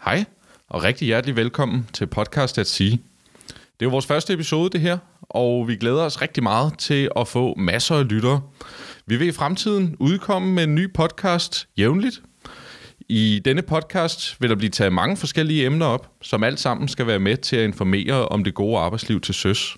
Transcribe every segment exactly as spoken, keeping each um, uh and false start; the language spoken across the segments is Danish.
Hej, og rigtig hjertelig velkommen til Podcast at Sige. Det er jo vores første episode, det her, og vi glæder os rigtig meget til at få masser af lyttere. Vi vil i fremtiden udkomme med en ny podcast jævnligt. I denne podcast vil der blive taget mange forskellige emner op, som alt sammen skal være med til at informere om det gode arbejdsliv til søs.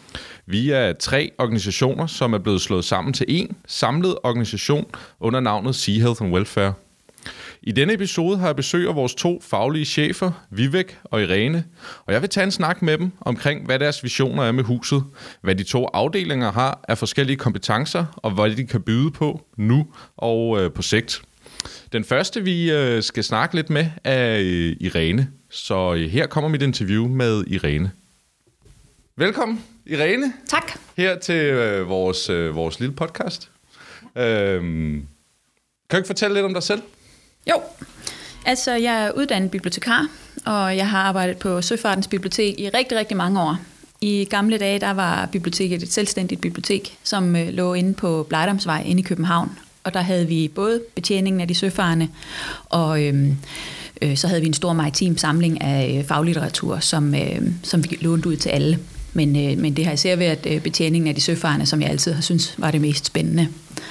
Vi er tre organisationer, som er blevet slået sammen til en samlet organisation under navnet Sea Health and Welfare. I denne episode har jeg besøg af vores to faglige chefer, Vivek og Irene, og jeg vil tage en snak med dem omkring, hvad deres visioner er med huset, hvad de to afdelinger har af forskellige kompetencer, og hvad de kan byde på nu og øh, på sigt. Den første, vi øh, skal snakke lidt med, er øh, Irene, så øh, her kommer mit interview med Irene. Velkommen, Irene. Tak. Her til øh, vores, øh, vores lille podcast. Øh, kan du ikke fortælle lidt om dig selv? Jo, altså jeg er uddannet bibliotekar, og jeg har arbejdet på Søfartens Bibliotek i rigtig, rigtig mange år. I gamle dage, der var biblioteket et selvstændigt bibliotek, som øh, lå inde på Blejdomsvej inde i København. Og der havde vi både betjeningen af de søfarende, og øh, øh, så havde vi en stor maritim samling af øh, faglitteratur, som, øh, som vi lånte ud til alle. Men, øh, men det har især været øh, betjeningen af de søfarende, som jeg altid har syntes var det mest spændende.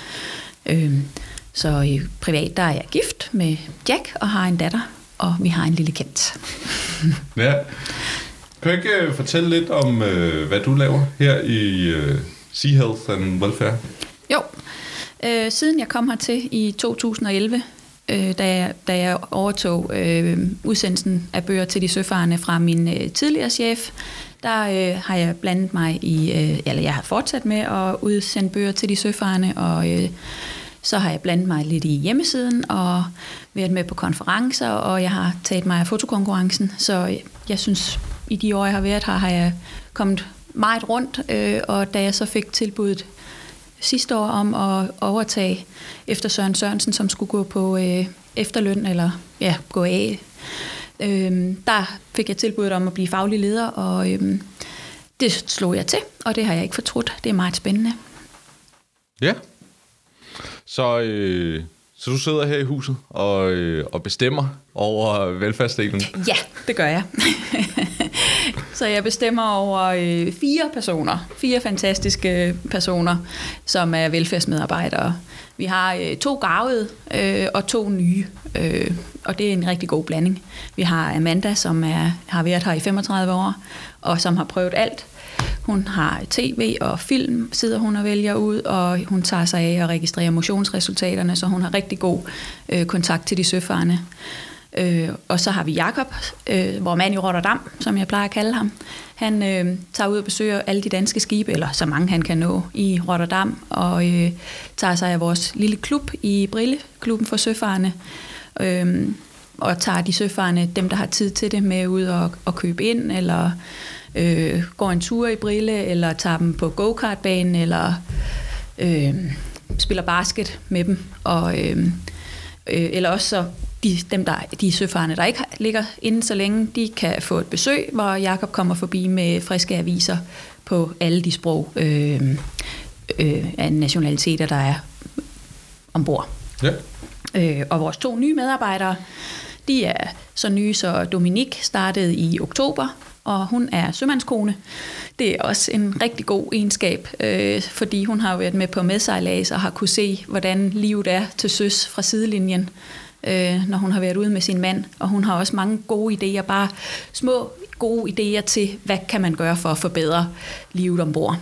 Øh, Så øh, privat, der er jeg gift med Jack og har en datter, og vi har en lille kat. Ja. Kan du ikke fortælle lidt om, øh, hvad du laver her i øh, Sea Health and Welfare? Jo, øh, siden jeg kom hertil i to tusind og elleve, øh, da, jeg, da jeg overtog øh, udsendelsen af bøger til de søfarende fra min øh, tidligere chef, der øh, har jeg blandet mig i, øh, eller jeg har fortsat med at udsende bøger til de søfarende, og øh, så har jeg blandet mig lidt i hjemmesiden og været med på konferencer, og jeg har taget mig af fotokonkurrencen. Så jeg synes, i de år, jeg har været her, har jeg kommet meget rundt. Øh, og da jeg så fik tilbuddet sidste år om at overtage efter Søren Sørensen, som skulle gå på øh, efterløn, eller ja, gå af, øh, der fik jeg tilbuddet om at blive faglig leder, og øh, det slog jeg til, og det har jeg ikke fortrudt. Det er meget spændende. Ja. Så, øh, så du sidder her i huset og, øh, og bestemmer over velfærdsdelen? Ja, det gør jeg. Så jeg bestemmer over øh, fire personer, fire fantastiske personer, som er velfærdsmedarbejdere. Vi har øh, to garvede øh, og to nye, øh, og det er en rigtig god blanding. Vi har Amanda, som er, har været her i femogtredive år, og som har prøvet alt. Hun har tv og film, sidder hun og vælger ud, og hun tager sig af at registrere motionsresultaterne, så hun har rigtig god øh, kontakt til de søfarende. Øh, og så har vi Jakob, øh, vores mand i Rotterdam, som jeg plejer at kalde ham. Han øh, tager ud og besøger alle de danske skibe, eller så mange han kan nå i Rotterdam, og øh, tager sig af vores lille klub i Brille, klubben for søfarende, øh, og tager de søfarende, dem der har tid til det, med ud og, og købe ind, eller Øh, går en tur i Brille, eller tager dem på go-kartbanen, eller øh, spiller basket med dem, og, øh, øh, eller også så de, dem der, de søfarende, der ikke ligger inde så længe, de kan få et besøg, hvor Jakob kommer forbi med friske aviser på alle de sprog øh, øh, af nationaliteter, der er ombord. Ja. Øh, og vores to nye medarbejdere, de er så nye, så Dominik startede i oktober, og hun er sømandskone. Det er også en rigtig god egenskab, øh, fordi hun har været med på medsejlads og har kunne se, hvordan livet er til søs fra sidelinjen, øh, når hun har været ude med sin mand. Og hun har også mange gode idéer, bare små gode idéer til, hvad kan man gøre for at forbedre livet ombord.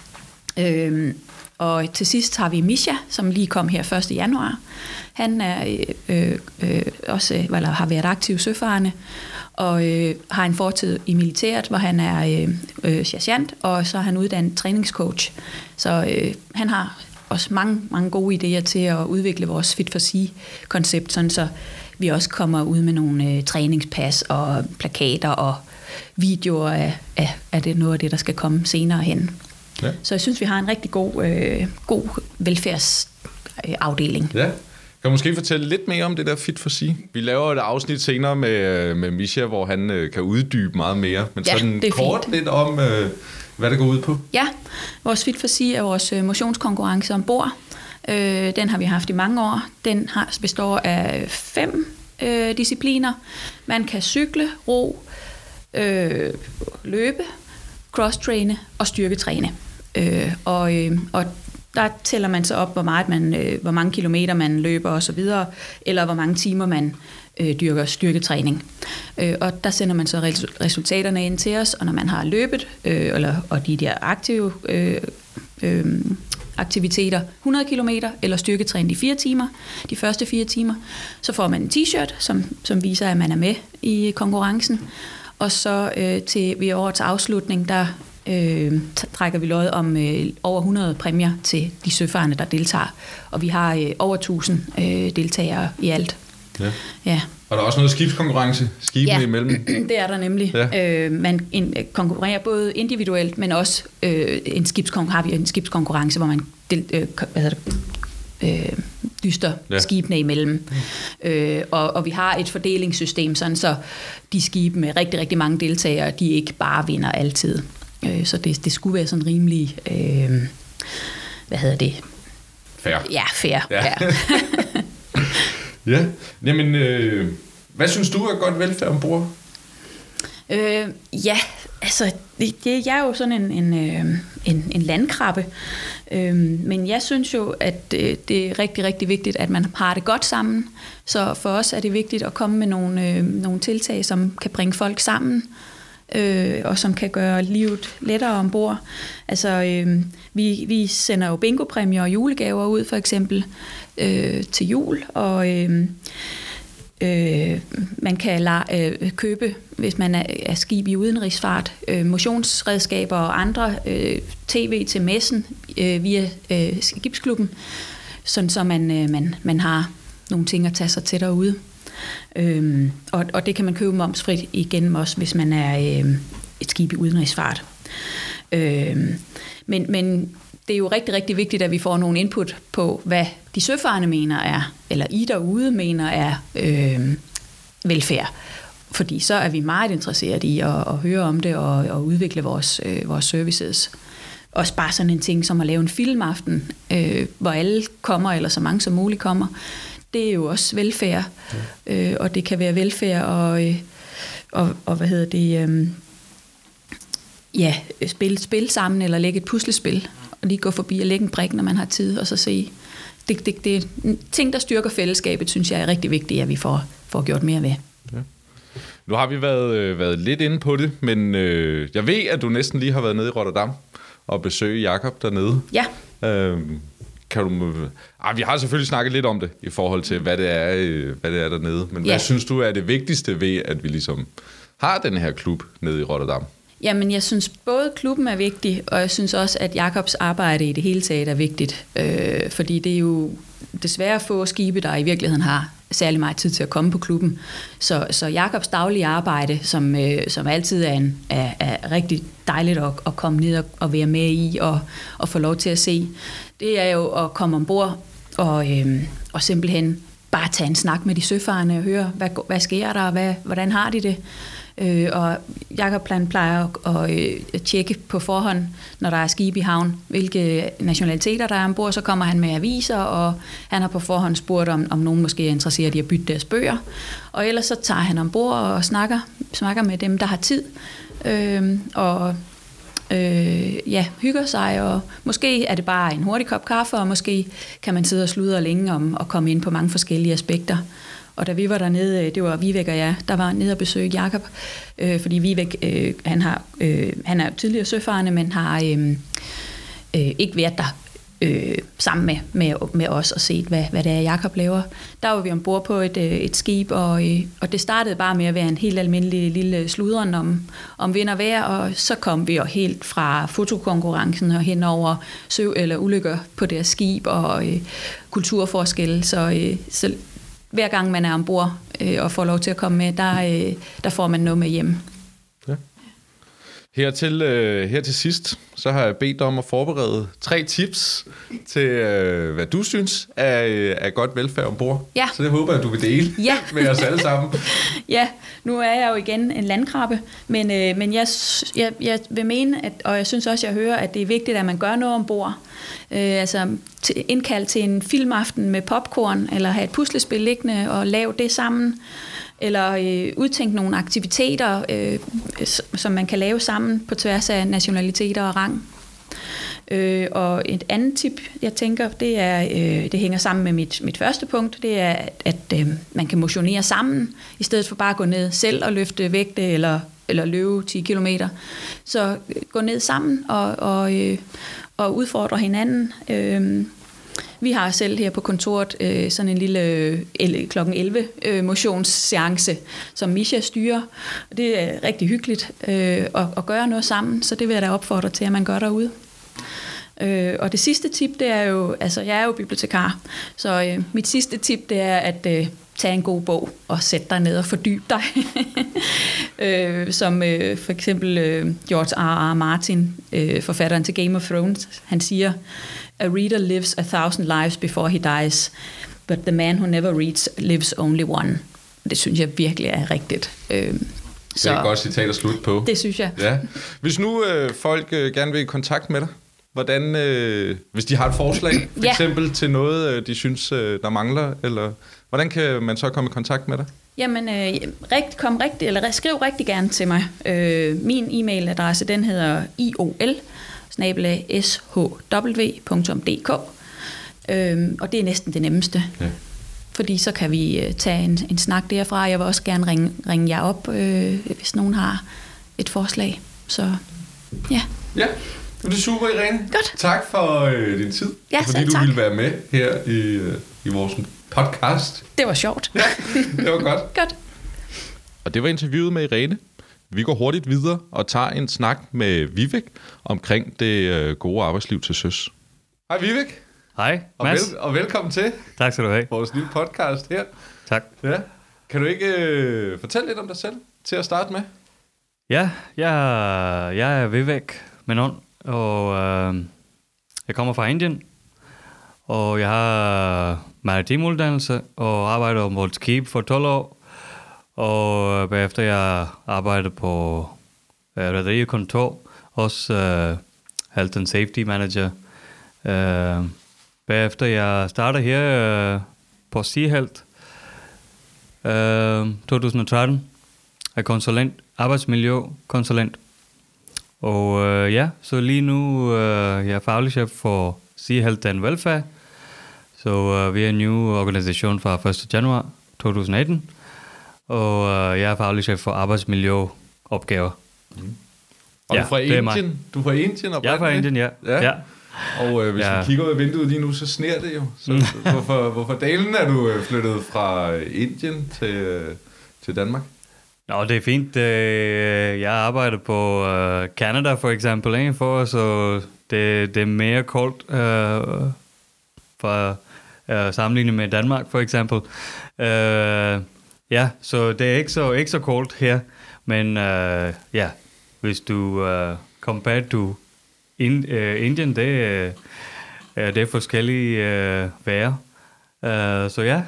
Øh, og til sidst har vi Misha, som lige kom her første januar. Han er øh, øh, også, eller har været aktiv søfarende, og øh, har en fortid i militæret, hvor han er øh, øh, sergeant, og så er han uddannet træningscoach. Så øh, han har også mange, mange gode idéer til at udvikle vores Fit for Sea-koncept, sådan så vi også kommer ud med nogle øh, træningspas og plakater og videoer af, af, af det, noget af det, der skal komme senere hen. Ja. Så jeg synes, vi har en rigtig god, øh, god velfærdsafdeling. Ja. Kan du måske fortælle lidt mere om det der Fit for Sea? Vi laver et afsnit senere med, med Misha, hvor han øh, kan uddybe meget mere. Men ja, sådan kort fint. Lidt om, øh, hvad det går ud på. Ja, vores Fit for Sea er vores motionskonkurrence ombord. Øh, den har vi haft i mange år. Den har, består af fem øh, discipliner. Man kan cykle, ro, øh, løbe, cross-træne og styrketræne. Øh, og, øh, og der tæller man så op, hvor, meget man, øh, hvor mange kilometer man løber osv., eller hvor mange timer man øh, dyrker styrketræning. Øh, og der sender man så resultaterne ind til os, og når man har løbet, øh, eller, og de der aktive øh, øh, aktiviteter, hundrede kilometer, eller styrketræning i fire timer, de første fire timer, så får man en t-shirt, som, som viser, at man er med i konkurrencen. Og så øh, til ved årets afslutning, der øh, trækker vi lod om øh, over hundrede præmier til de søfarende, der deltager. Og vi har øh, over tusind øh, deltagere i alt. Ja. Ja. Og der er også noget skibskonkurrence, skibene ja, imellem? Det er der nemlig. Ja. Øh, man in, konkurrerer både individuelt, men også øh, en skibskonkurrence, har vi en skibskonkurrence, hvor man del, øh, hvad hedder det, øh, dyster ja. skibene imellem. Mm. Øh, og, og vi har et fordelingssystem, sådan så de skibe med rigtig, rigtig mange deltagere, de ikke bare vinder altid. Øh, så det, det skulle være sådan rimelig, øh, hvad hedder det? Fair. Ja, fair. Ja. Ja. Ja, jamen, øh, hvad synes du er godt velfærd ombord? Øh, ja, altså, det, det, jeg er jo sådan en, en, en, en landkrabbe, øh, men jeg synes jo, at det, det er rigtig, rigtig vigtigt, at man har det godt sammen. Så for os er det vigtigt at komme med nogle, øh, nogle tiltag, som kan bringe folk sammen, øh, og som kan gøre livet lettere ombord. Altså, øh, vi, vi sender jo bingopræmier og julegaver ud, for eksempel, øh, til jul, og øh, øh, man kan la- øh, købe, hvis man er, er skib i udenrigsfart, øh, motionsredskaber og andre øh, tv til messen øh, via øh, skibsklubben, sådan så man, øh, man, man har nogle ting at tage sig til derude. Øhm, og, og det kan man købe momsfrit igennem også, hvis man er øh, et skib i udenrigsfart. Øhm, men, men det er jo rigtig, rigtig vigtigt, at vi får nogle input på, hvad de søfarende mener er, eller I derude mener er øh, velfærd. Fordi så er vi meget interesseret i at, at høre om det og, og udvikle vores, øh, vores services. Også bare sådan en ting som at lave en filmaften, øh, hvor alle kommer, eller så mange som muligt kommer. Det er jo også velfærd, ja. øh, og det kan være velfærd og, øh, og, og hvad hedder det, øh, ja, spille spil sammen eller lægge et puslespil, og lige gå forbi og lægge en brik, når man har tid, og så se. Det, det, det er ting, der styrker fællesskabet, synes jeg er rigtig vigtigt, at vi får, får gjort mere ved. Ja. Nu har vi været, øh, været lidt inde på det, men øh, jeg ved, at du næsten lige har været nede i Rotterdam og besøge Jakob dernede. Ja. Øh, Kan du, ah, vi har selvfølgelig snakket lidt om det i forhold til, hvad det er, hvad det er dernede. Men ja. Hvad synes du er det vigtigste ved, at vi ligesom har den her klub nede i Rotterdam? Jamen, jeg synes både klubben er vigtig, og jeg synes også, at Jakobs arbejde i det hele taget er vigtigt. Øh, fordi det er jo desværre få skibe, der i virkeligheden har særlig meget tid til at komme på klubben. Så, så Jakobs daglige arbejde, som, øh, som altid er, en, er, er rigtig dejligt at, at komme ned og, og være med i og, og få lov til at se, det er jo at komme ombord og, øh, og simpelthen bare tage en snak med de søfarende og høre, hvad, hvad sker der, hvad, hvordan har de det? Øh, og Jakob plejer at, at, at tjekke på forhånd, når der er skib i havn, hvilke nationaliteter der er ombord. Så kommer han med aviser, og han har på forhånd spurgt, om, om nogen måske er interesseret i at bytte deres bøger. Og ellers så tager han ombord og snakker, snakker med dem, der har tid, øh, og øh, ja, hygger sig. Og måske er det bare en hurtig kop kaffe, og måske kan man sidde og sludre længe om og komme ind på mange forskellige aspekter. Og da vi var dernede, det var Vivek og jeg, der var nede og besøge Jakob, øh, fordi Vivek, øh, han, har, øh, han er tidligere søfarende, men har øh, øh, ikke været der øh, sammen med, med, med os og set, hvad, hvad det er, Jakob laver. Der var vi ombord på et, et skib, og, øh, og det startede bare med at være en helt almindelig lille sludren om, om vind og vejr, og så kom vi jo helt fra fotokonkurrencen og hen over søv eller ulykker på deres skib og øh, kulturforskelle, så, øh, så hver gang man er ombord øh, og får lov til at komme med, der, øh, der får man noget med hjem. Ja. Her til, øh, her til sidst, så har jeg bedt dig om at forberede tre tips til, øh, hvad du synes er, er godt velfærd ombord. Ja. Så det håber jeg, at du vil dele ja. med os alle sammen. Ja, nu er jeg jo igen en landkrabbe, men, øh, men jeg, jeg, jeg vil mene, at, og jeg synes også, jeg hører, at det er vigtigt, at man gør noget ombord. Øh, altså til, indkald til en filmaften med popcorn, eller have et puslespil liggende og lave det sammen. Eller øh, udtænke nogle aktiviteter, øh, som man kan lave sammen på tværs af nationaliteter og rang. Øh, og et andet tip, jeg tænker, det er, øh, det hænger sammen med mit, mit første punkt, det er, at, at øh, man kan motionere sammen, i stedet for bare at gå ned selv og løfte vægte eller, eller løbe ti kilometer. Så øh, gå ned sammen og, og, øh, og udfordre hinanden. Øh, Vi har selv her på kontoret øh, sådan en lille øh, klokken elleve øh, motionsseance, som Misha styrer. Det er rigtig hyggeligt øh, at, at gøre noget sammen, så det vil jeg da opfordre til, at man gør derude. Øh, og det sidste tip, det er jo, altså jeg er jo bibliotekar, så øh, mit sidste tip, det er at øh, tage en god bog og sætte dig ned og fordybe dig. øh, som øh, for eksempel øh, George R. R. Martin, øh, forfatteren til Game of Thrones, han siger, "A reader lives a thousand lives before he dies, but the man who never reads lives only one." Det synes jeg virkelig er rigtigt. Øh, det er et godt citat at slutte på. Det synes jeg. Ja. Hvis nu øh, folk øh, gerne vil i kontakt med dig, hvordan, øh, hvis de har et forslag, for ja. eksempel til noget, øh, de synes, øh, der mangler, eller hvordan kan man så komme i kontakt med dig? Jamen, øh, rigt, kom rigtig, eller skriv rigtig gerne til mig. Øh, min e-mailadresse, den hedder iol snabel-a s h w punktum d k, øh, og det er næsten det nemmeste. Ja. Fordi så kan vi øh, tage en, en snak derfra. Jeg vil også gerne ringe, ringe jer op, øh, hvis nogen har et forslag. Så ja. Ja, det er super, Irene. Godt. Tak for øh, din tid, ja, fordi du tak. ville være med her i, øh, i vores podcast. Det var sjovt. Ja, det var godt. Godt. Og det var interviewet med Irene. Vi går hurtigt videre og tager en snak med Vivek omkring det øh, gode arbejdsliv til søs. Hej Vivek. Hej, og, Mads. vel, og velkommen til. Tak skal du have. Vores nye podcast her. Tak. Ja. Kan du ikke øh, fortælle lidt om dig selv til at starte med? Ja, jeg, jeg er Vivek Menon, og øh, jeg kommer fra Indien, og jeg har maritim uddannelse og arbejder på et skib for tolv år, og bagefter jeg arbejder på øh, rederikontor, også øh, Health and Safety Manager. Øh, bagefter jeg starter her øh, på Sea Health øh, to tusind og tretten, er konsulent, arbejdsmiljøkonsulent. Og øh, ja, så lige nu øh, jeg er faglig chef for Sea Health and Welfare. Så øh, vi er en ny organisation fra første januar to tusind og atten. Og øh, jeg er faglig chef for arbejdsmiljøopgaver. Mm. Og ja, du er fra Indien? Du er fra Indien Jeg er fra Indien, ja. ja. ja. Og øh, hvis ja. vi kigger ud af vinduet lige nu, så sner det jo. Så hvorfor, hvorfor dalen er du flyttet fra Indien til, til Danmark? Nå, det er fint. Jeg arbejder på Canada for eksempel, ikke? For, så det, det er mere koldt uh, for uh, sammenlignet med Danmark for eksempel. Uh, ja, så det er ikke så, ikke så koldt her. Men uh, ja, hvis du uh, compare to in, uh, Indien, det, uh, det er forskellige uh, vejr. Uh, så ja.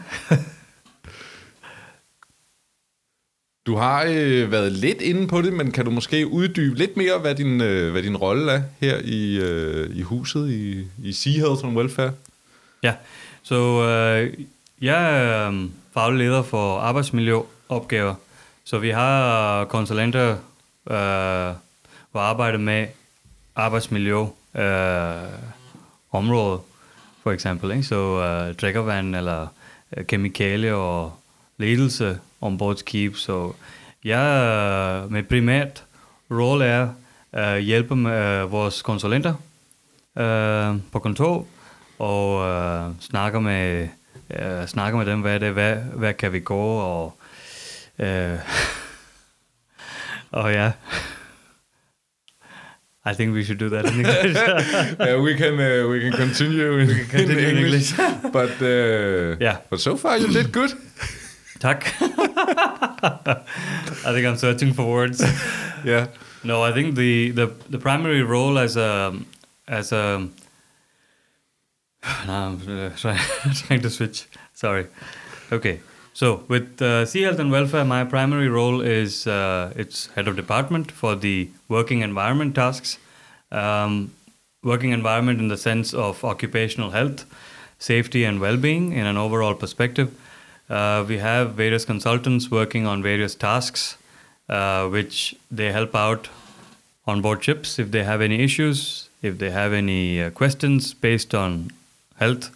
Du har øh, været lidt inde på det, men kan du måske uddybe lidt mere, hvad din, øh, hvad din rolle er her i, øh, i huset i, i Sea Health and Welfare? Ja, så øh, jeg er øh, faglig leder for arbejdsmiljøopgaver. Så vi har konsulenter, øh, hvor arbejder med arbejdsmiljø øh, området, for eksempel. Ikke? Så øh, drikkevand eller øh, kemikalier og ledelse ombord skib. Så jeg med primært rolle er at uh, hjælpe med uh, vores konsulenter uh, på kontor og uh, snakke med uh, snakke med dem, hvad det hvad hvad kan vi gå og uh, og ja. I think we should do that in English. yeah, we can uh, we can continue in, we can continue in English. in English. But uh, yeah. But so far you did good. Tak. I think I'm searching for words. Yeah. No, I think the, the, the primary role as a as a now I'm uh, trying, trying to switch. Sorry. Okay. So with uh, Sea Health and Welfare, my primary role is uh, it's head of department for the working environment tasks. Um, working environment in the sense of occupational health, safety and well-being in an overall perspective. Uh, we have various consultants working on various tasks, uh, which they help out on board ships if they have any issues, if they have any uh, questions based on health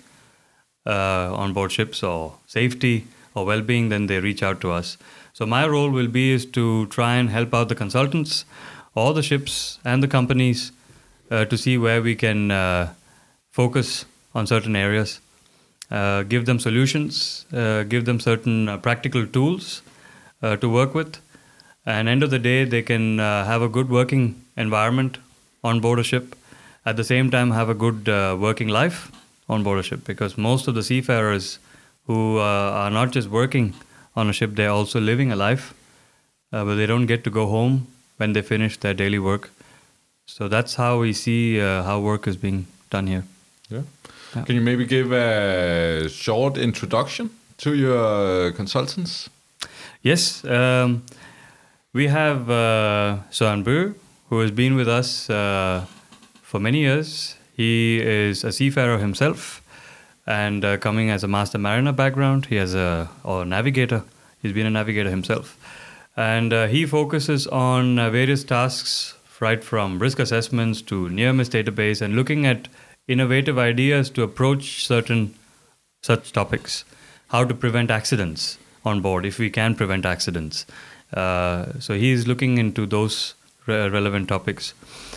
uh, on board ships or safety or well-being, then they reach out to us. So my role will be is to try and help out the consultants or the ships and the companies uh, to see where we can uh, focus on certain areas, uh, give them solutions, uh, give them certain uh, practical tools uh, to work with. And end of the day, they can uh, have a good working environment on board a ship, at the same time have a good uh, working life on board a ship, because most of the seafarers who uh, are not just working on a ship, they're also living a life, uh, but they don't get to go home when they finish their daily work. So that's how we see uh, how work is being done here. Yeah. yeah. Can you maybe give a short introduction to your consultants? Yes. Um, we have uh, Søren Bø, who has been with us uh, for many years. He is a seafarer himself, and uh, coming as a master mariner background, he has a or a navigator. He's been a navigator himself, and uh, he focuses on uh, various tasks, right from risk assessments to near-miss database, and looking at innovative ideas to approach certain such topics. How to prevent accidents on board, if we can prevent accidents. Uh, so he is looking into those re- relevant topics.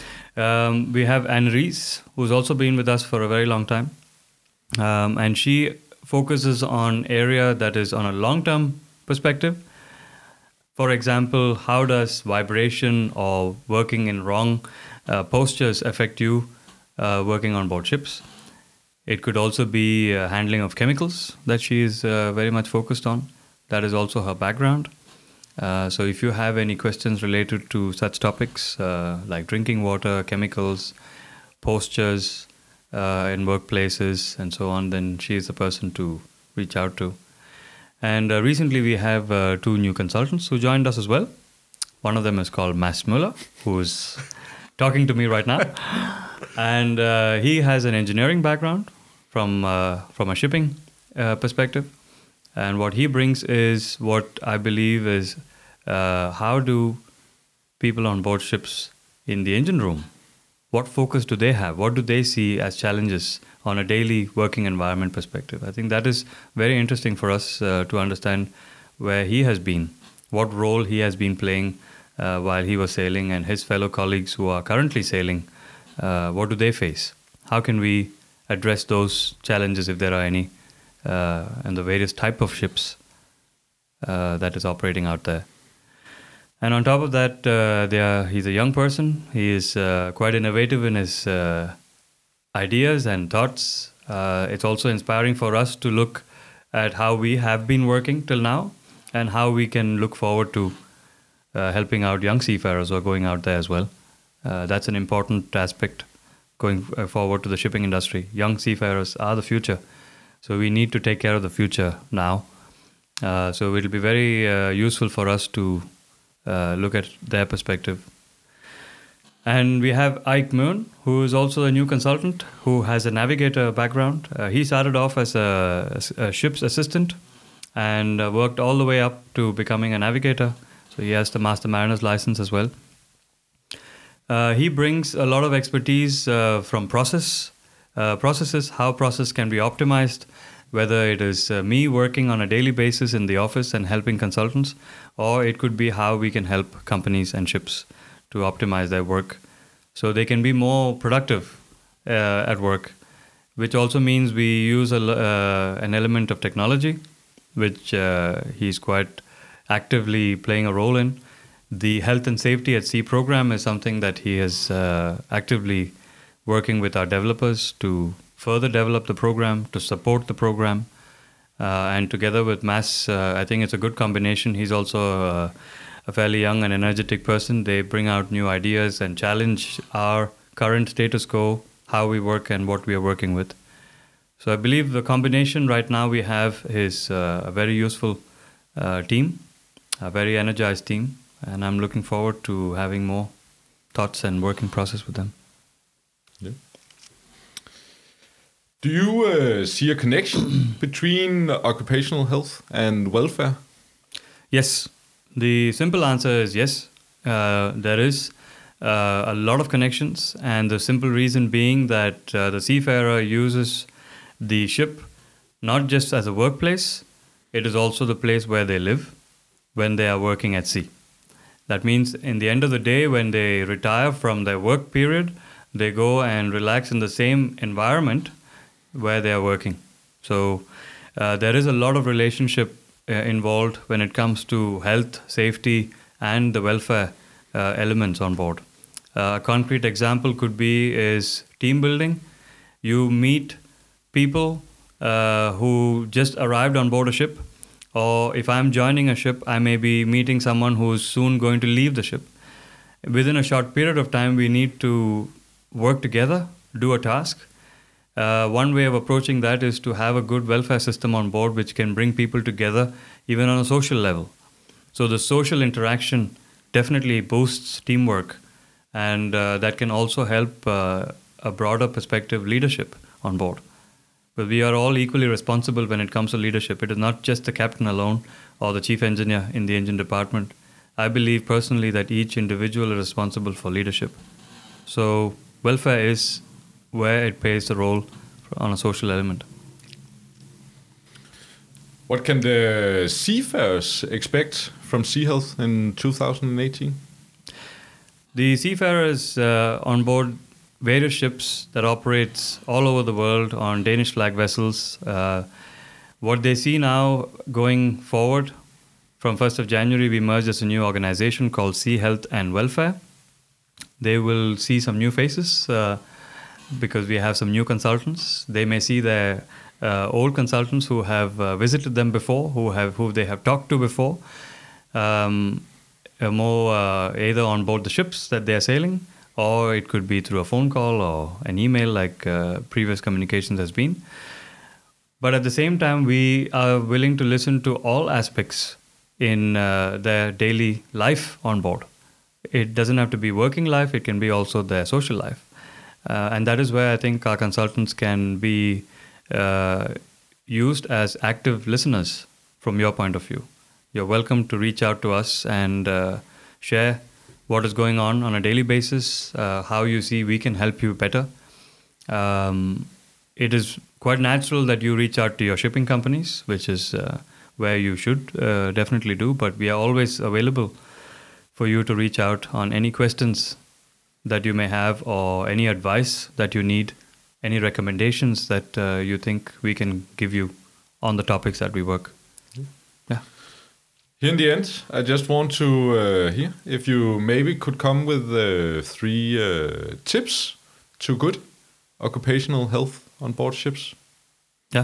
Um, we have Anne Rees, who's also been with us for a very long time. Um, and she focuses on area that is on a long-term perspective. For example, how does vibration or working in wrong uh, postures affect you uh, working on board ships? It could also be uh, handling of chemicals that she is uh, very much focused on. That is also her background. Uh, so if you have any questions related to such topics uh, like drinking water, chemicals, postures uh, in workplaces and so on, then she is the person to reach out to. And uh, recently we have uh, two new consultants who joined us as well. One of them is called Mads Müller, who's talking to me right now. And uh, he has an engineering background from uh, from a shipping uh, perspective. And what he brings is what I believe is uh, how do people on board ships in the engine room, what focus do they have? What do they see as challenges on a daily working environment perspective? I think that is very interesting for us uh, to understand where he has been, what role he has been playing uh, while he was sailing, and his fellow colleagues who are currently sailing, uh, what do they face? How can we address those challenges if there are any? Uh, and the various type of ships uh, that is operating out there. And on top of that, uh, they are, he's a young person. He is uh, quite innovative in his uh, ideas and thoughts. Uh, it's also inspiring for us to look at how we have been working till now and how we can look forward to uh, helping out young seafarers who are going out there as well. Uh, that's an important aspect going forward to the shipping industry. Young seafarers are the future. So we need to take care of the future now. Uh, so it will be very uh, useful for us to uh, look at their perspective. And we have Ike Moon, who is also a new consultant, who has a navigator background. Uh, he started off as a, a ship's assistant and uh, worked all the way up to becoming a navigator. So he has the Master Mariner's license as well. Uh, he brings a lot of expertise uh, from process Uh, processes, how process can be optimized, whether it is uh, me working on a daily basis in the office and helping consultants, or it could be how we can help companies and ships to optimize their work so they can be more productive uh, at work, which also means we use a, uh, an element of technology, which uh, he's quite actively playing a role in. The Health and Safety at Sea program is something that he has uh, actively working with our developers to further develop the program, to support the program. Uh, and together with Mads, uh, I think it's a good combination. He's also uh, a fairly young and energetic person. They bring out new ideas and challenge our current status quo, how we work and what we are working with. So I believe the combination right now we have is uh, a very useful uh, team, a very energized team, and I'm looking forward to having more thoughts and working process with them. Yeah. Do you uh, see a connection between occupational health and welfare? Yes. The simple answer is yes. Uh, there is uh, a lot of connections, and the simple reason being that uh, the seafarer uses the ship not just as a workplace, it is also the place where they live when they are working at sea. That means in the end of the day, when they retire from their work period, they go and relax in the same environment where they are working. So uh, there is a lot of relationship uh, involved when it comes to health, safety, and the welfare uh, elements on board. Uh, a concrete example could be is team building. You meet people uh, who just arrived on board a ship, or if I'm joining a ship, I may be meeting someone who's soon going to leave the ship. Within a short period of time, we need to work together, do a task. Uh, one way of approaching that is to have a good welfare system on board which can bring people together even on a social level. So the social interaction definitely boosts teamwork, and uh, that can also help uh, a broader perspective leadership on board. But we are all equally responsible when it comes to leadership. It is not just the captain alone or the chief engineer in the engine department. I believe personally that each individual is responsible for leadership. So welfare is where it plays the role on a social element. What can the seafarers expect from Sea Health in two thousand eighteen? The seafarers uh, on board various ships that operates all over the world on Danish flag vessels, uh, what they see now going forward, from first of January we merged as a new organization called Sea Health and Welfare. They will see some new faces uh, because we have some new consultants. They may see their uh, old consultants who have uh, visited them before, who have who they have talked to before, um, uh, more uh, either on board the ships that they are sailing, or it could be through a phone call or an email like uh, previous communications has been. But at the same time, we are willing to listen to all aspects in uh, their daily life on board. It doesn't have to be working life, it can be also their social life. Uh, and that is where I think our consultants can be uh, used as active listeners from your point of view. You're welcome to reach out to us and uh, share what is going on on a daily basis, uh, how you see we can help you better. Um, it is quite natural that you reach out to your shipping companies, which is uh, where you should uh, definitely do, but we are always available for you to reach out on any questions that you may have or any advice that you need, any recommendations that uh, you think we can give you on the topics that we work. Yeah. Here in the end, I just want to uh, hear if you maybe could come with uh, three uh, tips to good occupational health on board ships. Yeah.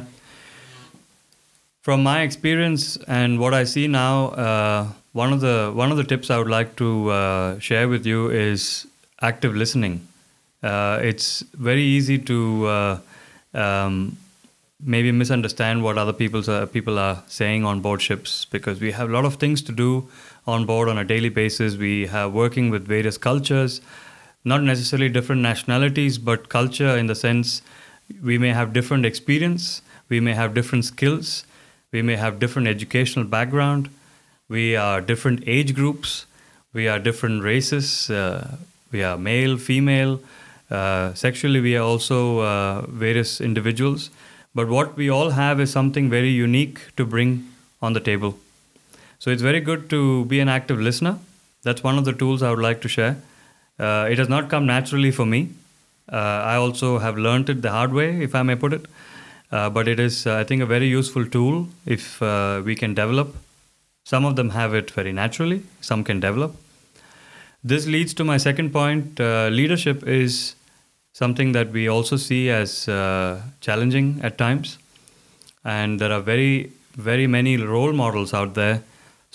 From my experience and what I see now, uh, one of the one of the tips I would like to uh, share with you is active listening. Uh, it's very easy to uh, um, maybe misunderstand what other people's, uh, people are saying on board ships, because we have a lot of things to do on board on a daily basis. We have working with various cultures, not necessarily different nationalities, but culture in the sense we may have different experience, we may have different skills, we may have different educational background, we are different age groups, we are different races, uh, we are male, female, uh, sexually we are also uh, various individuals. But what we all have is something very unique to bring on the table. So it's very good to be an active listener. That's one of the tools I would like to share. Uh, it has not come naturally for me. Uh, I also have learned it the hard way, if I may put it. Uh, but it is, uh, I think, a very useful tool if uh, we can develop. Some of them have it very naturally. Some can develop. This leads to my second point. Uh, leadership is something that we also see as uh, challenging at times. And there are very, very many role models out there.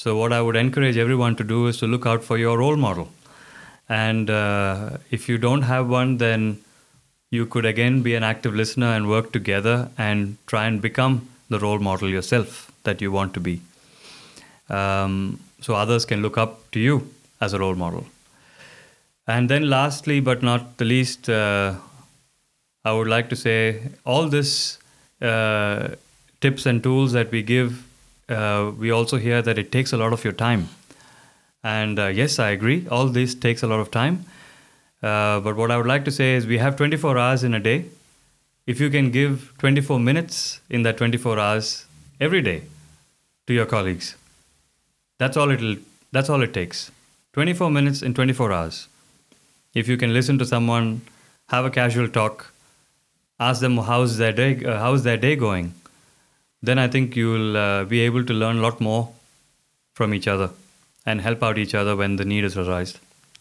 So what I would encourage everyone to do is to look out for your role model. And uh, if you don't have one, then you could again be an active listener and work together and try and become the role model yourself that you want to be. Um, so others can look up to you as a role model. And then lastly, but not the least, uh, I would like to say all this uh, tips and tools that we give, uh, we also hear that it takes a lot of your time. And uh, yes, I agree, all this takes a lot of time. Uh, but what I would like to say is we have twenty-four hours in a day. If you can give twenty-four minutes in that twenty-four hours every day to your colleagues, that's all it'll, that's all it takes. twenty-four minutes in twenty-four hours. If you can listen to someone, have a casual talk, ask them how's their day, uh, how's their day going, then I think you'll uh, be able to learn a lot more from each other and help out each other when the need is arised.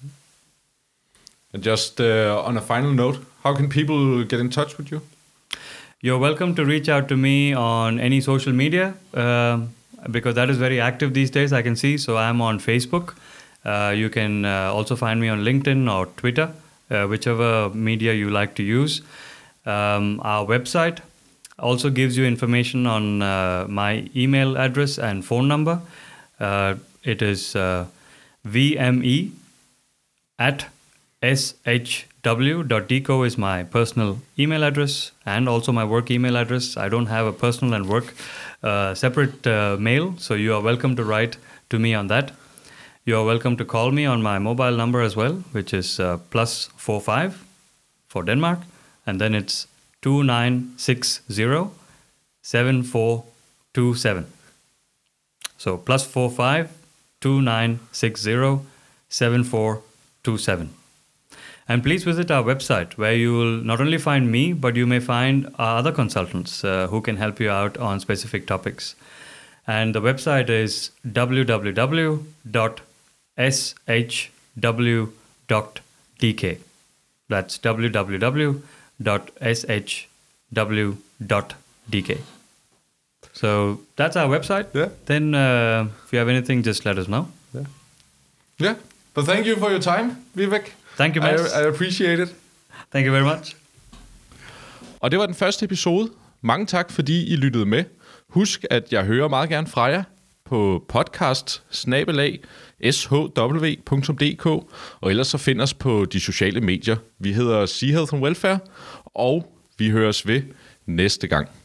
And just uh, on a final note, how can people get in touch with you? You're welcome to reach out to me on any social media uh, because that is very active these days, I can see. So I'm on Facebook. Uh, you can uh, also find me on LinkedIn or Twitter, uh, whichever media you like to use. Um, our website also gives you information on uh, my email address and phone number. Uh, it is uh, V M E at S H W dot D co is my personal email address and also my work email address. I don't have a personal and work uh, separate uh, mail, so you are welcome to write to me on that. You are welcome to call me on my mobile number as well, which is uh, plus four five for Denmark, and then it's two nine six zero seven four two seven. So plus four five two nine six zero seven four two seven. And please visit our website where you will not only find me, but you may find our other consultants uh, who can help you out on specific topics. And the website is w w w dot s h w dot d k. That's w w w dot s h w dot d k. So that's our website. Yeah. Then uh, if you have anything, just let us know. Yeah. Yeah. But thank you for your time, Vivek. Thank you, Mads. I, I appreciate it. Thank you very much. Og det var den første episode. Mange tak, fordi I lyttede med. Husk, at jeg hører meget gerne fra jer på podcast snabel-a s h w punktum d k, og ellers så find os på de sociale medier. Vi hedder Sea Health and Welfare, og vi høres ved næste gang.